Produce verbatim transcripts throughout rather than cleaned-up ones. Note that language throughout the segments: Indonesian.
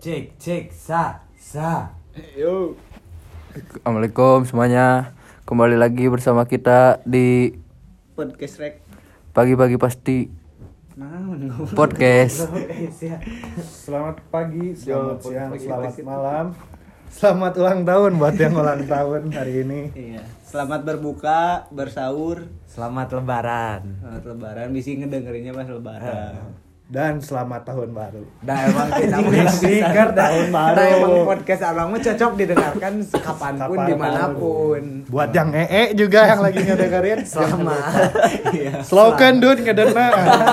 Cek, cek, sa, sa. Yo. Assalamualaikum semuanya. Kembali lagi bersama kita di Podcast Rek. Pagi-pagi pasti podcast. Selamat pagi, selamat Yo, siang, pagi, selamat pagi. malam. Selamat ulang tahun buat yang ulang tahun hari ini. Iya. Selamat berbuka, bersahur, Selamat lebaran. selamat lebaran. Bisa ngedengerinnya pas lebaran. Dan selamat tahun baru. Dah emang kita mau Stiker tahun baru. Nah emang podcast abang mah cocok didengarkan kapanpun Kapan- dimanapun. Buat yang ee juga yang lagi ngedengerin. Selamat. Iya. Slogan dun ngedena.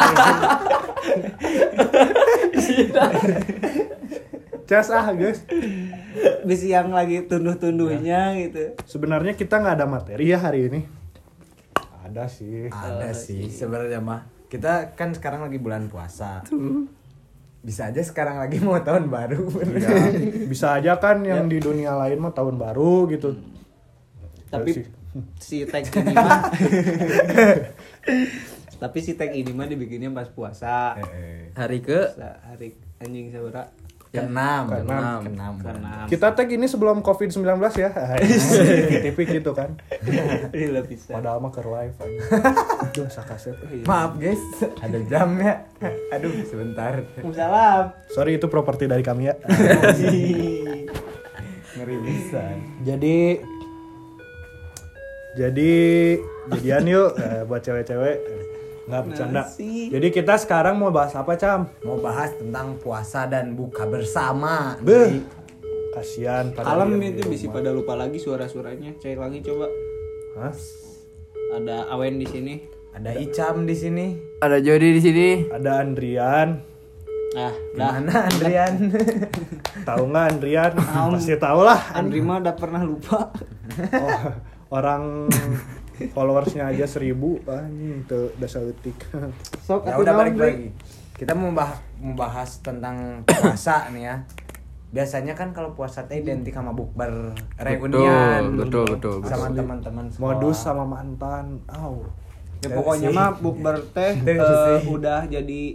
Cas ah guys. Bisa yang lagi tunduh-tunduhnya gitu. Sebenarnya kita nggak ada materi ya hari ini. Ada sih. Ada sih sebenarnya mah. Kita kan sekarang lagi bulan puasa. Bisa aja sekarang lagi mau tahun baru. Ya, bisa aja kan yang di dunia lain mah tahun baru gitu. Tapi si tag ini mah Tapi si tag ini mah dibikinnya pas puasa. Hari ke Puasa hari anjing sabaraha? Keenam, Keenam. keenam. Keenam. Kita tag ini sebelum covid sembilan belas ya. Tipik gitu kan. Gila bisa. Padahal mah ke live aja. Aduh, sakasep. Maaf guys, ada jam ya. Aduh, sebentar. Salam. Sorry itu properti dari kami ya. Ngeri bisa. Jadi Jadi jadian yuk eh, buat cewek-cewek. Nggak bercanda. Nasi. Jadi kita sekarang mau bahas apa, Cam? Mau bahas tentang puasa dan buka bersama. Beuh. Kasihan pada Kalem diam di itu bisa rumah. pada lupa lagi suara-suaranya. Cek lagi coba. Hah? Ada Awen di sini. Ada Icam di sini. ada Jody di sini. Ada Andrian. Ah, dah. Mana Andrian? Tahu nggak Andrian? Pasti tahu lah. Andri mah udah pernah lupa. Oh, orang followersnya aja seribu anjing tuh dasar letik. Sok Ya atuh udah naon, balik Bre? lagi. Kita mau bah- mau bahas tentang puasa nih ya. Biasanya kan kalau puasa teh identik sama bukber reunian. betul, betul, Sama betul. teman-teman sekolah. Modus sama mantan. Au. Ya, pokoknya Sih. mah bukber teh Itu eh, sih. udah jadi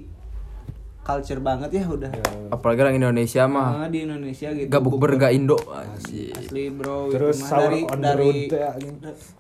culture banget ya udah. Apalagi orang Indonesia mah Nah, di Indonesia gitu. gak bukber gak Indo. Anjir. Asli bro. Terus itu mah sahur dari on the dari road teh, anjing.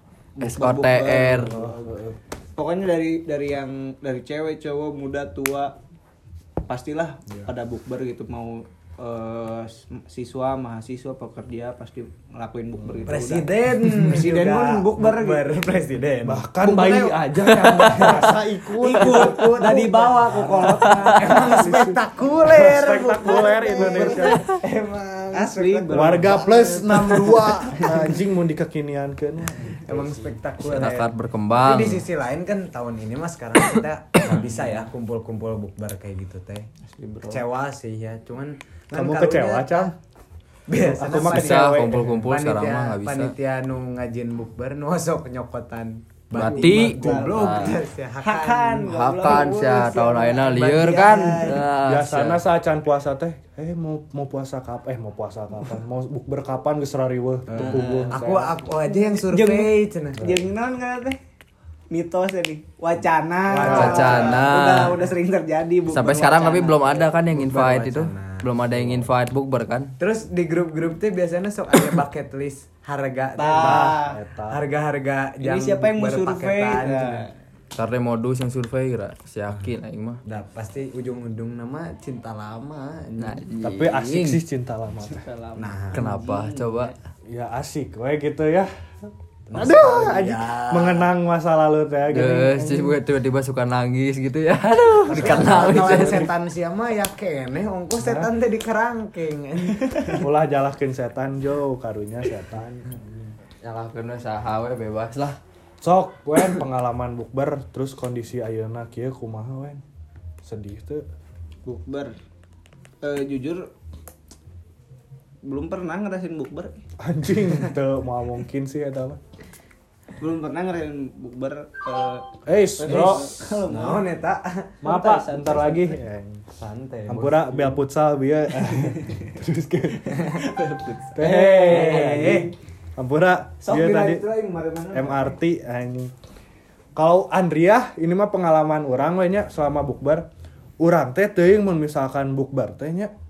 S O T R. Pokoknya dari dari yang dari cewek, cowok, muda, tua pastilah pada bukber gitu mau eh, siswa, mahasiswa, pekerja pasti ngelakuin bukber gitu. Presiden. Udah. Presiden juga pun bukber gitu. presiden. Bahkan Bukber bayi teh- aja yang merasa ikut. Ikut, udah dibawa ke kolotna. Emang spektakuler. Spektakuler Indonesia. Emang Asli bro. Warga plus enam puluh dua anjing mau dikekiniankeun. Emang spektakuler. Masyarakat berkembang. Tapi di sisi lain kan tahun ini mas sekarang kita nggak bisa ya kumpul-kumpul bukber kayak gitu teh. Kecewa sih ya, cuman kan Kamu karunya- kecewa, Cam? Biasa Aku mah Bisa kecewa. kumpul-kumpul sekarang Panitia- mah gak bisa. Panitia nu ngajin bukber nu osok nyokotan Bati. goblok Nah. ya Hakan. Hakan sia tahun ayeuna lieur kan. Nah, Biasana sia. saat can puasa teh, eh mau mau puasa kapan? Eh mau puasa kapan? Mau bukber kapan geus rariweuh teu kugung. aku aku aja yang survei cenah. Jeung naon kan teh? Mitos ya nih, wacana. Wacana. Udah udah sering terjadi bukber Sampai sekarang wacana. tapi belum ada kan yang Bukber invite itu. wacana. Belum ada yang invite bukber kan. Terus di grup-grup tuh biasanya sok ada bucket list harga teh, Tah. Bah. Eta. harga-harga Ini siapa yang mau bukber survei? paketan, Nah. cenah. Karena modus yang survei kira. Si yakin aing mah. Dah pasti ujung-ujung nama cinta lama. Nah, Tapi asik sih cinta lama teh. Salam. Nah, Kenapa? Coba. Ya asik we gitu ya. Aduh, Nostalgia. anjing mengenang masa lalu teh gini. Guys, tiba-tiba suka nangis gitu ya. Aduh, dikenal Kawan gitu. setan siapa ya keneh ongkos setan teh dikerangkeng. Ulah jalahkeun setan jo, karunya setan. Nyalahkeun saha we bebas lah. Sok wen pengalaman bukber terus kondisi ayeuna kieu kumaha wen? Sedih tuh. Bukber. Eh, jujur belum pernah ngerasain bukber. Anjing teu mau mungkin sih eta mah. Belum pernah ngerasain bukber. eh, Eh, bro. Kalau mau Naon eta? Maaf Pak, bentar lagi. Santai. Ampura bel futsal bieu. Terus ke. Eh, Teh. Ampura sok bieu dina tadi itu lah yang kemarin-kemarin. M R T anjing. Kalau Andria ini mah pengalaman urang we nya selama bukber. Urang teh teuing mun misalkan bukber teh nya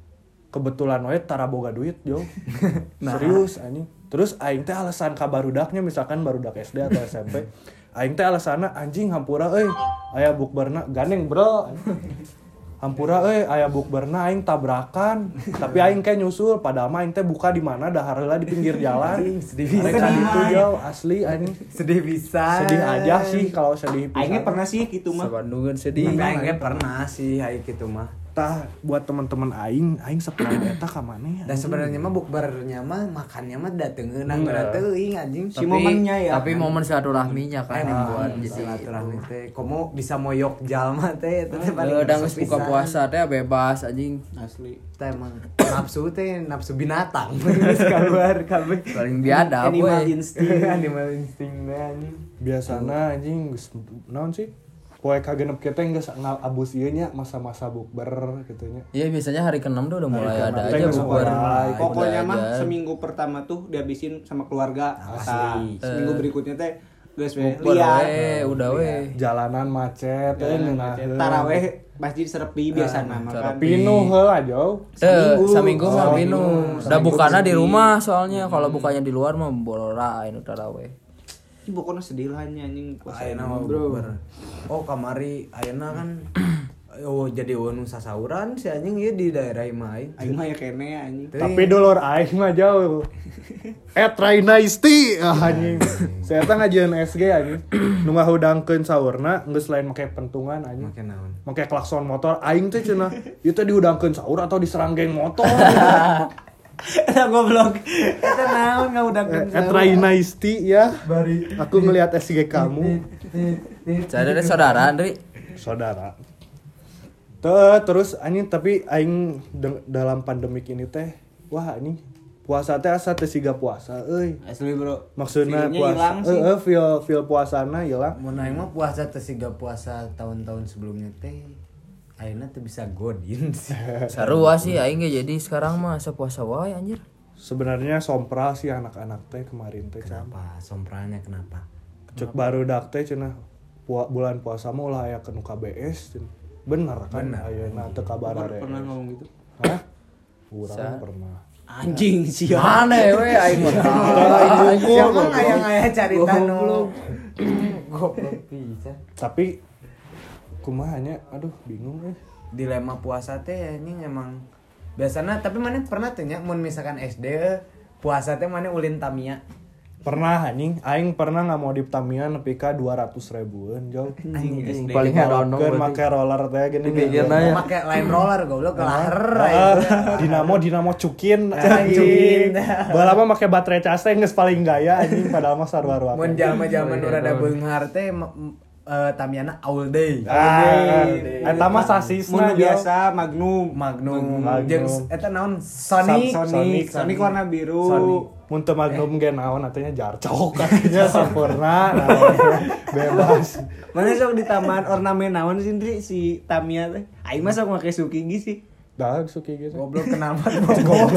kebetulan we tara boga duit yo. Serius anjing. Terus aing teh alasan ka barudaknya misalkan barudak S D atau S M P. Aing teh alasanna anjing hampura euy aya bukberna gandeng bro. Hampura euy aya bukberna aing tabrakan tapi aing kayak nyusul padahal mah aing teh buka di mana dahar heula di pinggir jalan. Sedih bisa Itu jauh asli anjing. sedih bisa Sedih aja sih kalau sedih pisan. Aingnya pernah sih gitu mah. Sabandungan sedih. Aing pernah sih hai gitu mah. Tah buat teman-teman aing aing seperan eta ka maneh. Dan sebenarnya mah bukbernya mah makannya mah datengeun nang teuing anjing. Si momennya ya. Tapi momen silaturahminya kan yang buat jadi silaturahmi teh. Komo bisa moyok jalma teh eta teh paling udah geus buka puasa teh bebas anjing. Asli. Teh emang nafsu teh nafsu binatang. Geus keluar kabeh. Paling biadab Animal we. instinct. Animal instinct teh anjing. Biasana anjing geus naon sih? Poe kagenep kita geus ngabus ieu nya masa-masa bukber gitu nya. Iya biasanya hari keenam tuh udah mulai keenam ada teh aja geus bukber. mulai. Pokoknya Udah mah aja. seminggu pertama tuh dihabisin sama keluarga. Asli. Nah, seminggu berikutnya teh geus we Bukber liar. we, udah we. Jalanan macet teh ngeunaheun. Taraweh masjid serepi biasana mah kan. Pinuh heula jauh. Teu, Seminggu. saminggu mah Oh, pinu. seminggu. Udah bukana di Seminggu. rumah soalnya kalau bukanya di luar mah bolora anu taraweh. Ini pokoknya sedih lah anjing puasa Ayeuna ini, mah bro. bukber. Oh kamari ayeuna kan oh jadi anu sasauran si anjing ieu di daerah imah aing. Aing mah ya kene anjing. Tapi dulur aing mah jauh. Et Raina Isti ah, anjing. Saya teh ngajieun S G anjing. Nu ngahudangkeun saurna geus lain make pentungan anjing. Make naon? Make klakson motor aing teh cenah. Ieu teh diudangkeun saur atau diserang geng motor. Eta goblok. Eta naon ngaudakeun. Et Raina Isti ya. Aku ngelihat S G kamu. Saya ada saudara Andri. Saudara. Tuh, terus anjing tapi aing de- dalam pandemik ini teh wah anjing puasa teh asa teh siga puasa euy. Asli bro. Maksudnya Feelnya puasa hilang sih. heeh feel feel puasana hilang. Mun aing mah puasa teh siga puasa tahun-tahun sebelumnya teh ayeuna teh bisa godin sih. Sarua sih aing ge jadi sekarang mah asa puasa wae anjir. Sebenarnya sompral sih anak-anak teh kemarin teh can. Kenapa? Sompranya kenapa? Cek barudak teh cenah Pua, bulan puasa mah ulah aya ke nu K B S cenah. Bener kan ayeuna teu kabar Pernah pernah ngomong gitu. Hah? Urang pernah. Anjing sia. Mana we aing mah. Siapa aya-aya carita nu goblok pisan. Tapi kumaha nya aduh bingung eh. Dilema puasa teh anjing emang biasanya tapi mana pernah tuh nya mun misalkan S D puasa teh mana ulin Tamiya. Pernah anjing aing pernah nggak mau di Tamiya nepi ka dua ratus ribuan jauh. Anjing paling herono Kan make roller teh gini. Pikirna ya. Make line roller goblok ke lahar. Ah, dinamo dinamo cukin Cukin. anjing. Baheula mah make baterai cas teh geus paling gaya anjing padahal mah sarua-rua. Mun jalma-jalma nu rada beunghar teh eh Tamiyana all day. Ah, eta mah sasisna Mun biasa Magnum, Magnum, Magnum. jeung eta naon Sonic. Sonic, Sonic warna biru. Sonic. Mun teu Magnum ge naon atunya jarcok katanya sampurna naon. Bebas. Mana sok ditambahan ornamen naon sih Ndri si Tamiya teh? Aing mah sok make Sukigi sih. Dah suki gitu. Goblok kenapa goblok.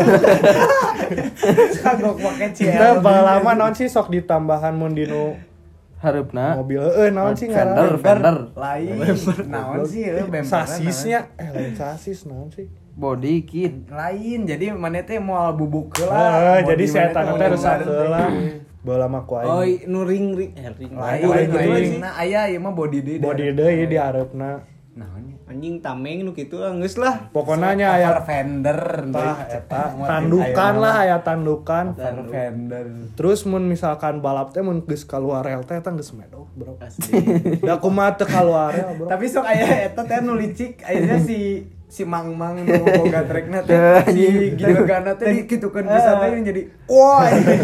Kagok make Kita ciel. lama naon sih sok ditambahan mun dinu Hareupna mobil eueuh naon sih Fender, ngaran? Fender, Lain naon sih eueuh bemperan. Sasisnya eh lain sasis naon sih? body kit. Lain jadi mana teh moal bubuk heula. Eh, jadi saya tanya teh rusak heula. heula. Baheula mah ku Oh, aing. nu ring ring eh ring. Lain Lain, gitu lain. nah aya ieu mah body deui. Body deui di areupna. Naon ya? Anjing tameng nu kitu lah geus lah. Pokona nya aya Cover fender tah eta tandukan lah aya tandukan. Cover fender. Terus mun misalkan balap teh mun geus kaluar rel teh eta geus medok, Bro. Asli. Da kumaha teu kaluar rel, Bro. Tapi sok aya eta teh nu licik ayeuna si si Mang Mang nu boga trekna teh si gilgana teh dikitukeun bisa teh jadi wah.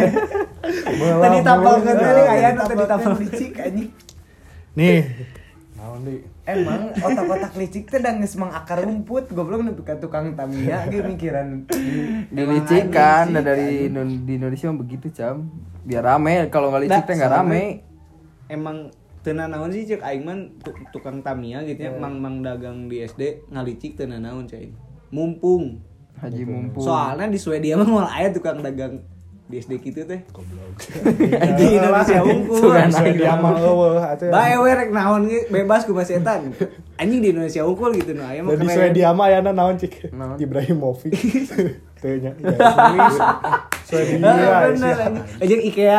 Tadi tampalkeun teh aya nu tadi tampal licik anjing. Nih. Naon di? Emang otak-otak licik teh da geus mangakar rumput goblok nepi ka tukang Tamiya ge mikiran Dilicik kan dari Indo- di Indonesia mah begitu cam. Biar rame, kalau nggak licik teh nggak rame. Emang teuna naon sih cek aing mah tu- tukang Tamiya gitu ya, mang-mang dagang di S D ngalicik teuna naon cai. Mumpung. Haji mumpung. Soalnya di Swedia mah moal aya tukang dagang di S D kitu teh. Goblok. Di Indonesia unggul. Sesuai dia mah eueuh atuh. Bae we rek naon ge bebas ku setan. Anjing di Indonesia unggul gitu nah aya mah Jadi keren. Swedia mah aya naon cik? Naon? Ibrahimovic. Teu nya. Swedia. Bener anjing. Anjing IKEA.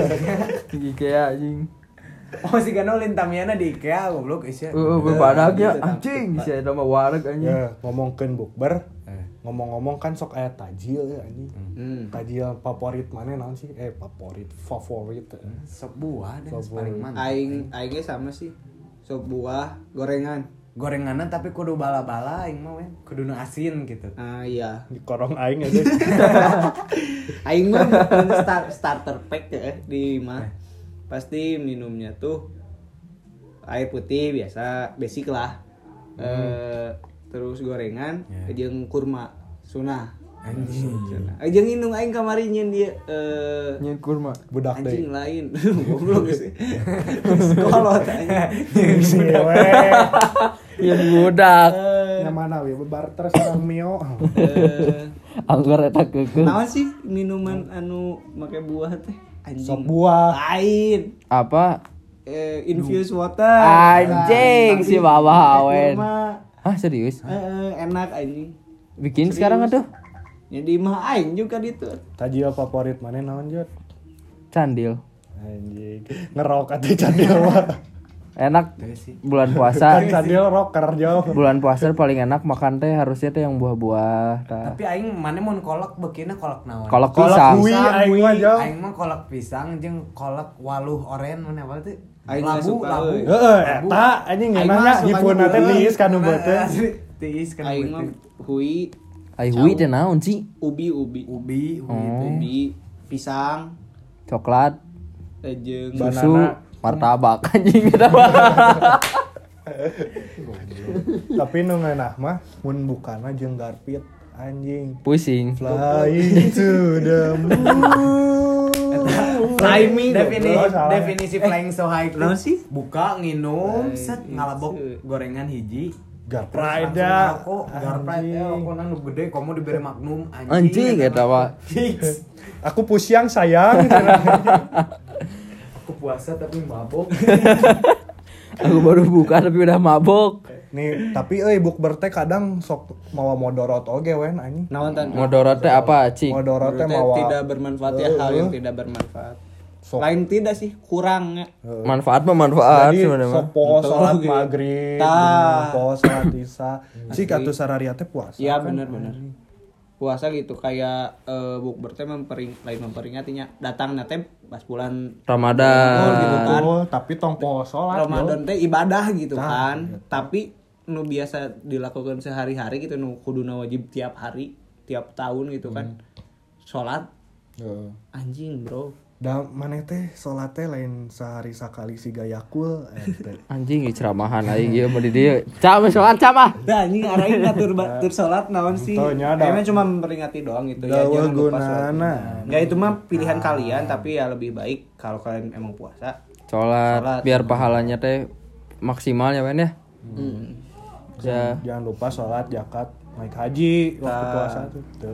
IKEA anjing. Oh si Gano lintamiana di IKEA goblok isya. Heeh, bebadak ya anjing, si eta mah wareg anjing. Ya, ngomongkeun bukber. Ngomong-ngomong kan sok aya tajil ya anjing. Hmm. Tajil favorit mana naon sih? Eh favorit, favorit. Sop buah dan Sop paling buah. mantap. Aing aing ge sama sih. Sop buah, gorengan. Gorenganan tapi kudu bala-bala aing mah we. Kudu nu asin gitu. Ah iya. Di korong aing aja. Aing mah bukan star, starter pack ya di mah. Pasti minumnya tuh air putih biasa, basic lah. Hmm. Eh terus gorengan, Ya. jeung kurma sunah. Anjing. Sunah. Eh jeung indung aing kamari nyeun dia eh Nyeun kurma. Budak anjing deui. lain. Goblok sih. Kolot anjing. Si we. Yang budak. Nya mana we barter sareng Mio. Eh Anggur eta keukeuh. naon sih minuman anu make buah teh? Anjing. Sop buah. Lain. Apa? Eh infused water. Anjing, Nah, si tapi Baba pakai Awen. kurma. Hah, serius? Eh, eh, enak anjing. Bikin Serius. sekarang atuh. Jadi mah aing juga gitu. Tajil favorit mana naon Jod? Candil. Anjing. Ngerok atuh candil mah. Enak Teu sih. bulan puasa. Kan candil rocker jauh. Bulan puasa paling enak makan teh harusnya teh yang buah-buah. tah. Tapi aing mana mun kolak beukina kolak naon? Kolak Kolak pisang. hui aing mah jauh. Aing mah kolak pisang jeung kolak waluh oren mana apa teh? Aing mah Labu, suka, labu. euy. Heeh, eta anjing Aing ngeunahnya mah suka hipuna teh juga. tiis kan nu beuteun. Tiis kan Aing mah beuteun. hui, Ai hui teh naon sih? ubi ubi, Ubi, ubi Oh. teh. ubi, pisang, Coklat, eh, jeung Banana. susu, martabak anjing eta mah. Tapi nu ngeunah mah mun bukana jeung Garpit anjing. Pusing. Flying to the moon. Timing, Defini, goblok, salah. definisi flying so high naon tuh sih? buka nginum Eh, set gitu. ngalabok gorengan hiji Garpride kok garpride ya anjing. kok nu gede kamu diberi magnum anjing Anjing eta mah. Fix. Aku pusiang sayang. Aku puasa tapi mabok. Aku baru buka tapi udah mabok. Nih, tapi euy bukber teh kadang sok mawa modorot oge wen anjing. Naon tan? Modorot teh apa, Cing? Modorot teh Menurut mawa saya tidak bermanfaat ya, hal yang tidak bermanfaat. Sok. Lain tidak sih, kurang ya. Manfaat mah manfaat Jadi sebenarnya. sok poho Betul, salat gitu. maghrib, Tah. poho salat isya. Cik atuh sararia teh puasa. Iya kan? benar-benar. Puasa gitu kayak eh, bukber teh mempering lain memperingatinya datangnya teh pas bulan Ramadan. gitu kan. Betul, tapi tong poho salat. Ramadan teh ibadah gitu Tah, kan. gitu. Tapi nu biasa dilakukan sehari-hari gitu nu kuduna wajib tiap hari, tiap tahun gitu kan. Salat Heeh. anjing, Bro. Da maneh teh salat teh lain sehari sakali siga yakul eh, teh. Anjing ieu ceramahan aing ieu mah di dieu. Cam soal cam ah. Nah, anjing arahin ngatur batur salat naon sih? Tuh, nya ada. Emang cuma memperingati doang gitu ya, Dawa jangan lupa salat. gunana. Enggak itu mah pilihan kalian tapi ya lebih baik kalau kalian emang puasa. Salat Salat. biar pahalanya teh maksimal ya men ya. Hmm. Ya. Jangan lupa salat, zakat, naik haji waktu Tah. puasa tuh. Tuh.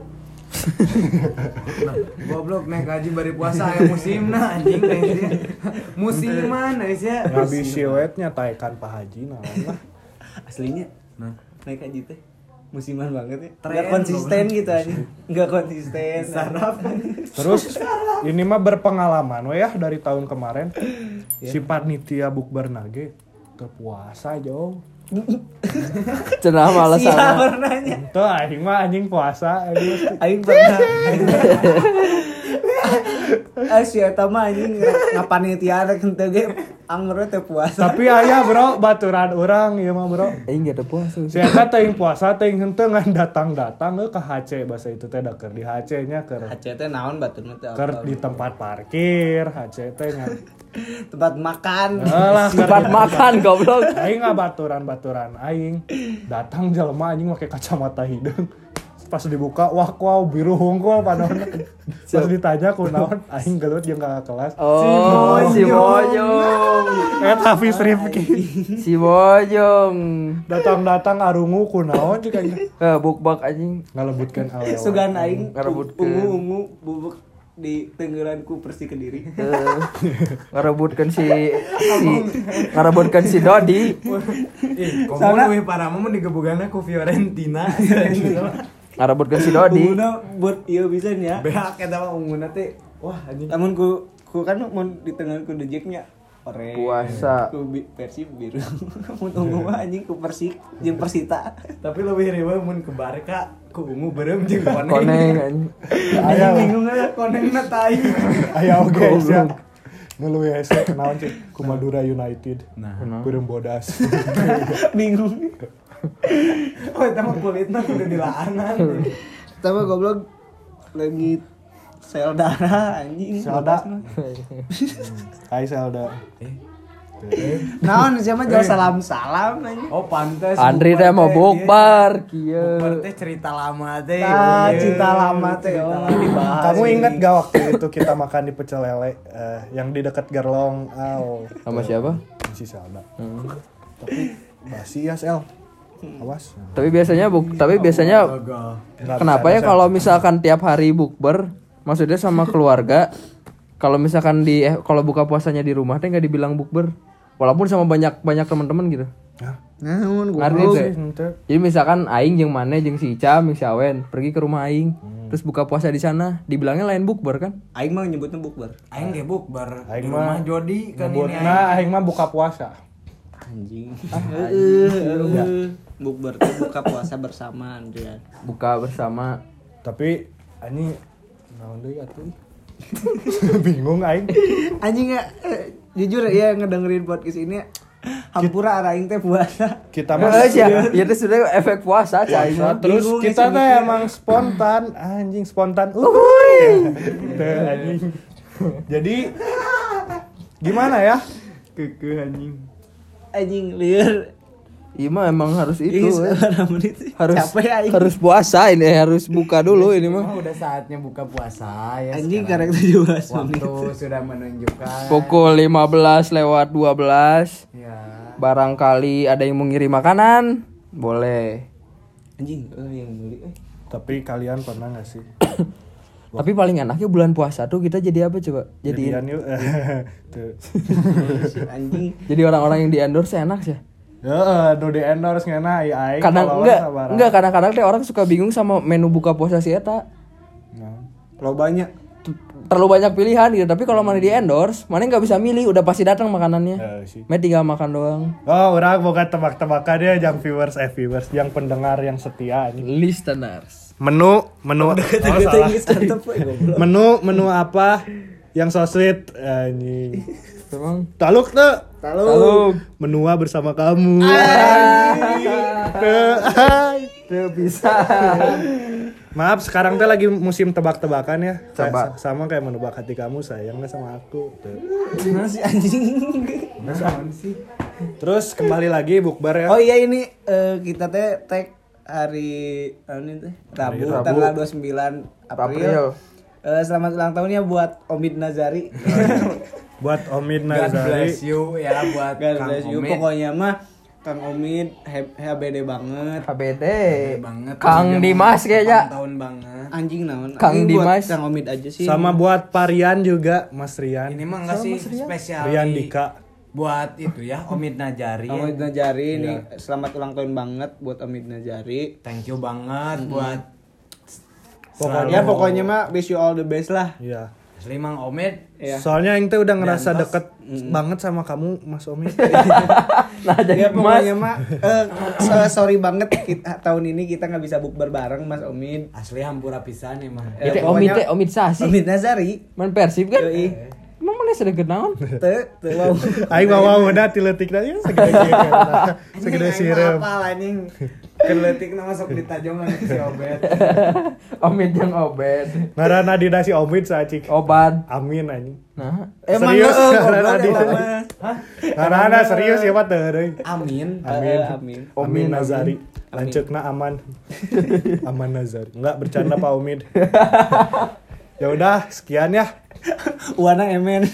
Goblok naik haji bari puasa aya musimna anjing teh. Musiman ya. Ngabisi wetnya taekan Pak Haji naon lah. Aslinya naik haji teh musiman banget ya. Tren, Enggak konsisten gitu aja. Enggak konsisten. Saraf. Terus ini mah berpengalaman we ya dari tahun kemarin. Si panitia bukber nage teu puasa jauh. Cenah mah Siapa alasanna. pernahnya? Tuh anjing mah anjing puasa anjing. Aing pernah. Ah si eta mah anjing ngapanitia rek henteu ge anger teh puasa. Tapi aya bro baturan orang ieu mah bro. Aing geus puasa. Si eta teuing puasa teuing henteu ngan datang-datang euy ka H C bahasa itu teh da keur di H C nya keur H C teh naon batur teh keur di tempat parkir H C teh nya. tempat makan. Alah Tempat makan goblok. aing ngabaturan-baturan aing datang jelema anjing make kacamata hidung. Pas dibuka wah wow biru hungkul panaon. Pas ditanya kunaon aing gelut jeung kakak kelas. Oh, si Bojong. Eta Hafiz Rifki. Si Bojong. Datang-datang arungu kunaon cik aing. Eh bukbak anjing. Ngalebutkeun awewe. Sugan aing Ngarebutkeun. ungu-ungu bubuk di tenggelanku Persik Kediri. Eh, ngarebutkeun si si ngarebutkeun si Dodi. Ih, komo we para mah digebugana ku Fiorentina. Ngarebutkeun si Dodi. Ungguna buat ieu bisa nya. Beak eta mah ungguna teh. Wah anjing. Namun ku ku kan mun di tenggelanku dejeknya ore Puasa. ku bi- Persib biru. Mun ungu mah anjing ku Persik jeung Persita. Tapi lebih riweuh mun ke Barca ku ungu beureum jeung koneng. Koneng anjing. Aya bingung aja konengna tai. Aya oge sia. Nu leuwih hese naon cik ku Madura United. Nah, Beureum bodas. Bingung. oh eta mah kulitna kudu dilaanan. Tapi goblok lagi sel darah anjing. Selda. Hai Selda. Naon siapa jauh salam-salam anjing. Oh pantes. Andri teh mau bukbar kieu. Bukbar teh cerita lama teh. Ah, Iya. cinta lama teh oh dibahas. Kamu ingat gak waktu itu kita makan di pecel lele eh, yang di dekat Gerlong? Aw. Sama siapa? Si Selda. Hmm. Tapi basi ya Sel. Awas. Tapi biasanya buk tapi biasanya Nggak kenapa ya bisa, kalau misalkan tiap hari bukber maksudnya sama keluarga kalau misalkan di eh, kalau buka puasanya di rumah teh nggak dibilang bukber walaupun sama banyak banyak teman-teman gitu. Hah? Naon Ngerti goblok. teh? Ente. Jadi misalkan aing jeung Mane jeung si Ica, jeung si Awen pergi ke rumah aing, terus buka puasa di sana, dibilangnya lain bukber kan? Aing mah nyebutnya bukber. Aing ge bukber Aing di mah rumah Jodi kan ini. Nyebutna aing mah buka puasa. Anjing. Heeh. Bukber teh buka puasa bersama Andrian. Buka bersama. Tapi ani naon deui atuh? Bingung aing. Anjing ya eh, jujur ya ngedengerin podcast ini hampura arah aing teh puasa. Kita mah Eh, ya, ya itu sudah efek puasa cai. Puasa, terus Bingung kita ya, teh mikir. emang spontan, anjing spontan. Uhuy. Teh anjing. Jadi gimana ya? Keke anjing. Anjing lieur. Iya mah emang harus itu. Ih, eh. sekarang menit sih. Harus Capek aing. harus puasa ini harus buka dulu ini mah. Mah udah saatnya buka puasa ya. Anjing sekarang. karek tujuh belas menit. Waktu sudah menunjukkan. Pukul lima belas lewat dua belas. Ya. Barangkali ada yang mau ngirim makanan, boleh. Anjing eh yang beli eh. Tapi kalian pernah gak sih? Tapi paling enaknya bulan puasa tuh kita jadi apa coba? Jadi Jadian yuk. Tuh. Si anjing. jadi orang-orang yang di endorse enak sih. Ya, nu di endorse ngena ai ai. Kadang follower enggak, sabaraha. enggak kadang-kadang teh orang suka bingung sama menu buka puasa si eta. Nah. Lo banyak. Terlalu banyak pilihan gitu, tapi kalau mana di endorse, mana nggak bisa milih, udah pasti datang makanannya. Eh, sih. Mana tinggal makan doang. Oh, orang boga tebak-tebakan dia yang viewers eh viewers, yang pendengar yang setia ini. Listeners. Menu, menu. Oh, salah. Antep we goblok. Menu, menu apa yang so sweet anjing. Emang Taluk tuh. Taluk. Menua bersama kamu. Tuh, ay. tuh bisa. Maaf, sekarang teh lagi musim tebak-tebakan ya. Coba. Kayak- sama kayak menebak hati kamu, sayang nggak sama aku. Tuh. Gimana sih anjing? Terus kembali lagi bukber ya. Oh iya ini eh, kita teh tag hari ini teh Rabu, Hari Rabu. tanggal dua puluh sembilan April. April. Eh, selamat ulang tahun ya buat Omid Nazari. Buat Omid God Nazari. bless you ya buat God Kang bless you. Omid. Pokoknya mah Kang Omid he- H B D banget. H B D. banget. Kang Zaman Dimas kayaknya. delapan tahun banget. Anjing naon. Kang Ini buat Dimas. Kang Omid aja sih. Sama buat Parian juga, Mas Rian. Ini mah enggak sih spesial Rian di- Dika. buat itu ya Omid Najari. ya. Omid Nazari ini selamat ulang tahun banget buat Omid Nazari. Thank you banget buat Pokoknya pokoknya mah wish you all the best lah. Iya. asli Mang Omid. Ya. Soalnya Aing teh udah ngerasa Diantos. deket banget sama kamu, Mas Omid. Nah jadi Ya Mas. pokoknya mah eh, so- sorry banget kita, tahun ini kita nggak bisa bukber bareng Mas Omid. Asli hampura pisan emang. Itu Eh, Omid pokoknya- teh Omid Sasi. Omid Nazari. Man Persib kan? Yoi. Emang mana sudah kenaon? Teu teu wow. Aing bawa udah tiletikna ya segede kieu. Segede sirup. Apa anjing? Keletik nama sok ditajongan si Obed. Omid yang obed. Ngaranna dina si Omid saacik. Obat. Amin anjing. Nah, Emang Serius, heeh, ngaranna goblok dina. emang mah. Ngaranna serius ya mah teu deui. Amin. Amin. Eh, amin. Amin Nazari. Lanceukna aman. Aman Nazari. Enggak bercanda Pak Omid. Ya udah, sekian ya. Wana emen.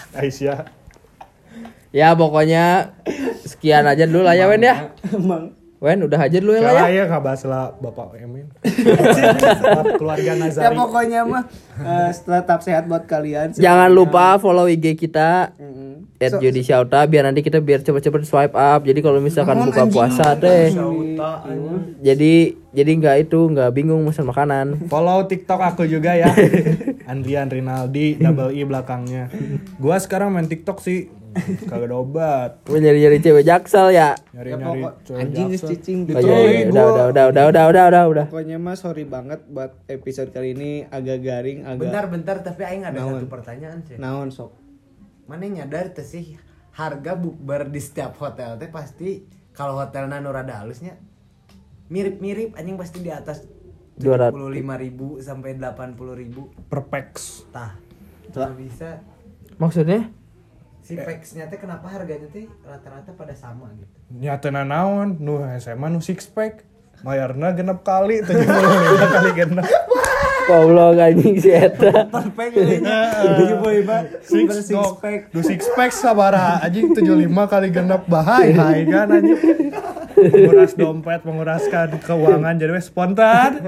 Aisyah. ya pokoknya sekian aja dulu lah ya Wen ya. Emang Wen udah aja dulu ya lah Ya, ya. ya nggak bahas lah Bapak Emin. Keluarga Nazari. Ya pokoknya mah eh, tetap sehat buat kalian. Jangan lupa follow I G kita Mm-mm. at So- Jody Shauta biar nanti kita biar cepet-cepet swipe up. Jadi kalau misalkan Namun buka anjing. puasa teh, Sauta, anjing. jadi jadi nggak itu nggak bingung pesan makanan. Follow TikTok aku juga ya. Andrian Rinaldi double I belakangnya. Gua sekarang main TikTok sih. Kagak ada obat. Gue nyari-nyari cewek jaksel ya. Nyari-nyari pokok- cewek anjing geus jaksel. cicing Oh, iya, iya, Gua- udah, udah, udah, udah, udah, udah, udah, udah. Pokoknya mah sorry banget buat episode kali ini agak garing, agak Bentar-bentar tapi aing ada Naon? satu pertanyaan sih. naon sok. Mana nyadar teh sih harga bukber di setiap hotel teh pasti kalau hotelnya nu rada halusnya mirip-mirip anjing pasti di atas dua ratus. tujuh puluh lima ribu sampai delapan puluh ribu. Perpex. Tah. Tah. Nggak bisa Maksudnya? si peksnya teh kenapa harganya teh rata-rata pada sama gitu. Nyatana naon nu S M A nu six pack. Mayarna genep kali tujuh puluh lima kali genep. Goblok anjing si eta. Perfect tujuh puluh lima Six, six no, pack. Du six pack sabaraha anjing tujuh puluh lima kali genep bahaya hai kan anjing. Menguras dompet, menguraskan keuangan jadi we spontan.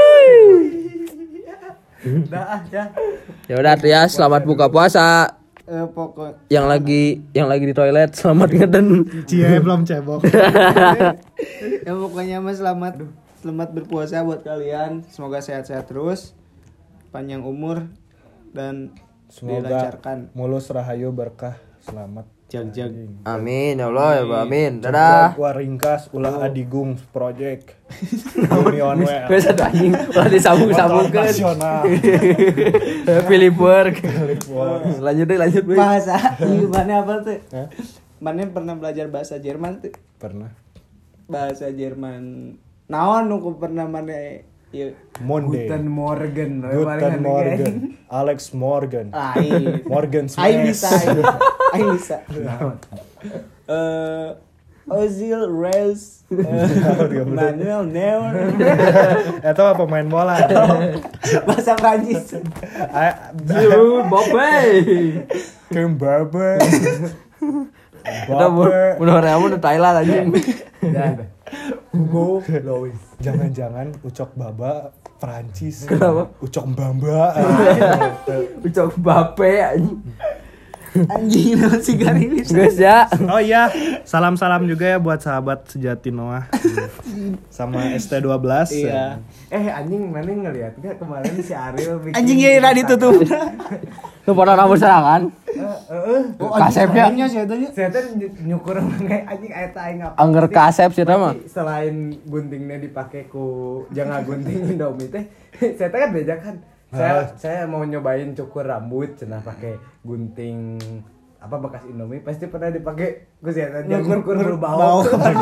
Dah ah ya. Ya udah tuh ya, selamat buka puasa. Eh, pokok Yang lagi yang lagi di toilet selamat ngeden. Cie belum cebok. ya pokoknya mah selamat selamat berpuasa buat kalian. Semoga sehat-sehat terus, panjang umur dan Semoga dilancarkan. mulus rahayu berkah selamat. Jag-jag. Amin ya Allah ya Allah, amin. Dadah. Gua ringkas ulah adigung project. Union W L. Wes satu anjing ulah disambung-sambungkeun. Nasional. Philip Work. Lanjut deh, lanjut deh. Bahasa gimana apa tuh? Mana pernah belajar bahasa Jerman tuh? Pernah. Bahasa Jerman. Naon nu pernah mana ieu? Monday. Guten Morgen. Guten Morgen. Alex Morgan. Aing. Morgan Aing bisa. Smash. Aing. Aing bisa. Eh Ozil Reyes eh, Manuel Neuer Itu apa pemain bola? bahasa Prancis. Yo, Bobe. Kembabe. Kita udah rame udah Thailand anjing. Ya. Hugo Lois. Jangan-jangan Ucok Baba Prancis. Kenapa? Ucok Bamba. Ucok Bape anjing. Anjing naon si garing ini. Guys ya. Oh iya, salam-salam juga ya buat sahabat sejati Noah sama S T dua belas. Iya. Eh anjing mana ngeliat gak kemarin si Ariel bikin Anjing ya ira ditutup. Lu pada rambut serangan. Heeh. Kasepnya. sih eta Saya tuh nyukur kayak anjing eta aing apa. Angger kasep sih eta mah. Selain guntingnya dipakai ku jangan gunting Indomie teh, saya teh kan beda kan. Saya saya mau nyobain cukur rambut cenah pakai gunting apa bekas Indomie pasti pernah dipakai ku saya teh nyukur bau.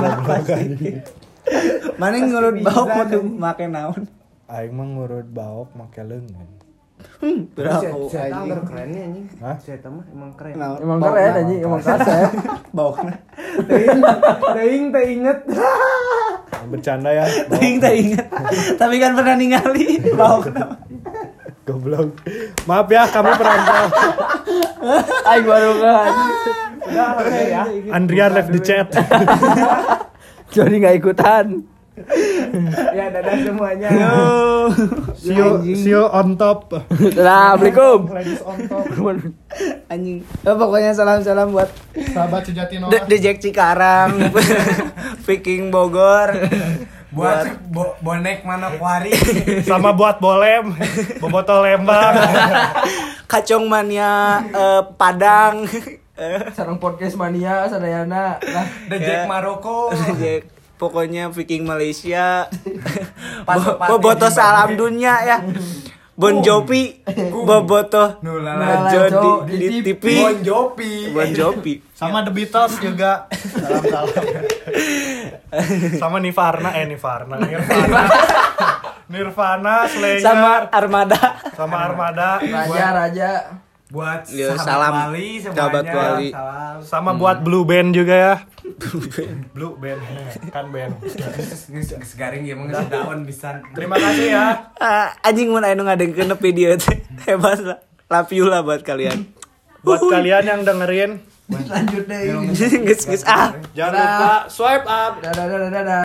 Mana ngurut bau make make naon? Aing mah ngurut baok make leungeun. Hmm, Saya berapa saya anjing. tahu kerennya anjing. Hah? Saya tahu mah emang keren. Naon? Emang Bau keren naon? anjing, emang kasep. Bau. Teuing teuing teu inget. Bercanda ya. Ting tak ingat. Tapi kan pernah ningali bau kenapa? Goblok. Maaf ya kami perantau. Aing baru kan. Udah oke ya. Andrian left the chat. Jadi enggak ikutan. Ya dadah semuanya. See you, see you on top. Assalamualaikum. Ladies on top. Anjing. Eh, pokoknya salam-salam buat Sahabat sejati The, Noah. The Jack Cikarang, Viking Bogor, Buat bo- bonek Manokwari. Sama buat Bolem, Boboto Lembang. Kacong Mania eh, Padang, Sarang podcast mania sadayana. Nah, The Jack Maroko. Jack. Pokoknya Viking Malaysia, Pasok Bo- Boboto Salam Dunia ya, Bon Jovi, Boboto Nulala Najo di, di T V, Bon Jovi. Bon Jovi, Sama The Beatles juga. Salam-salam. Sama Nirvana, eh Nirvana, Nirvana. Nirvana, Slayer, sama Armada. sama Armada, Raja Raja. Buat Ya, sahabat salam. Wali semuanya. Sahabat Wali. Salam. sama buat Blue Band juga ya. Blue Band, kan band. Geus garing ya mah geus daun pisan. Terima kasih ya. Ah, anjing mun anu ngadengkeun video teh. Hebat lah. Love you lah buat kalian. Buat kalian yang dengerin, Lanjut deh. Geus geus ah. jangan lupa swipe up. Dadah dadah dadah.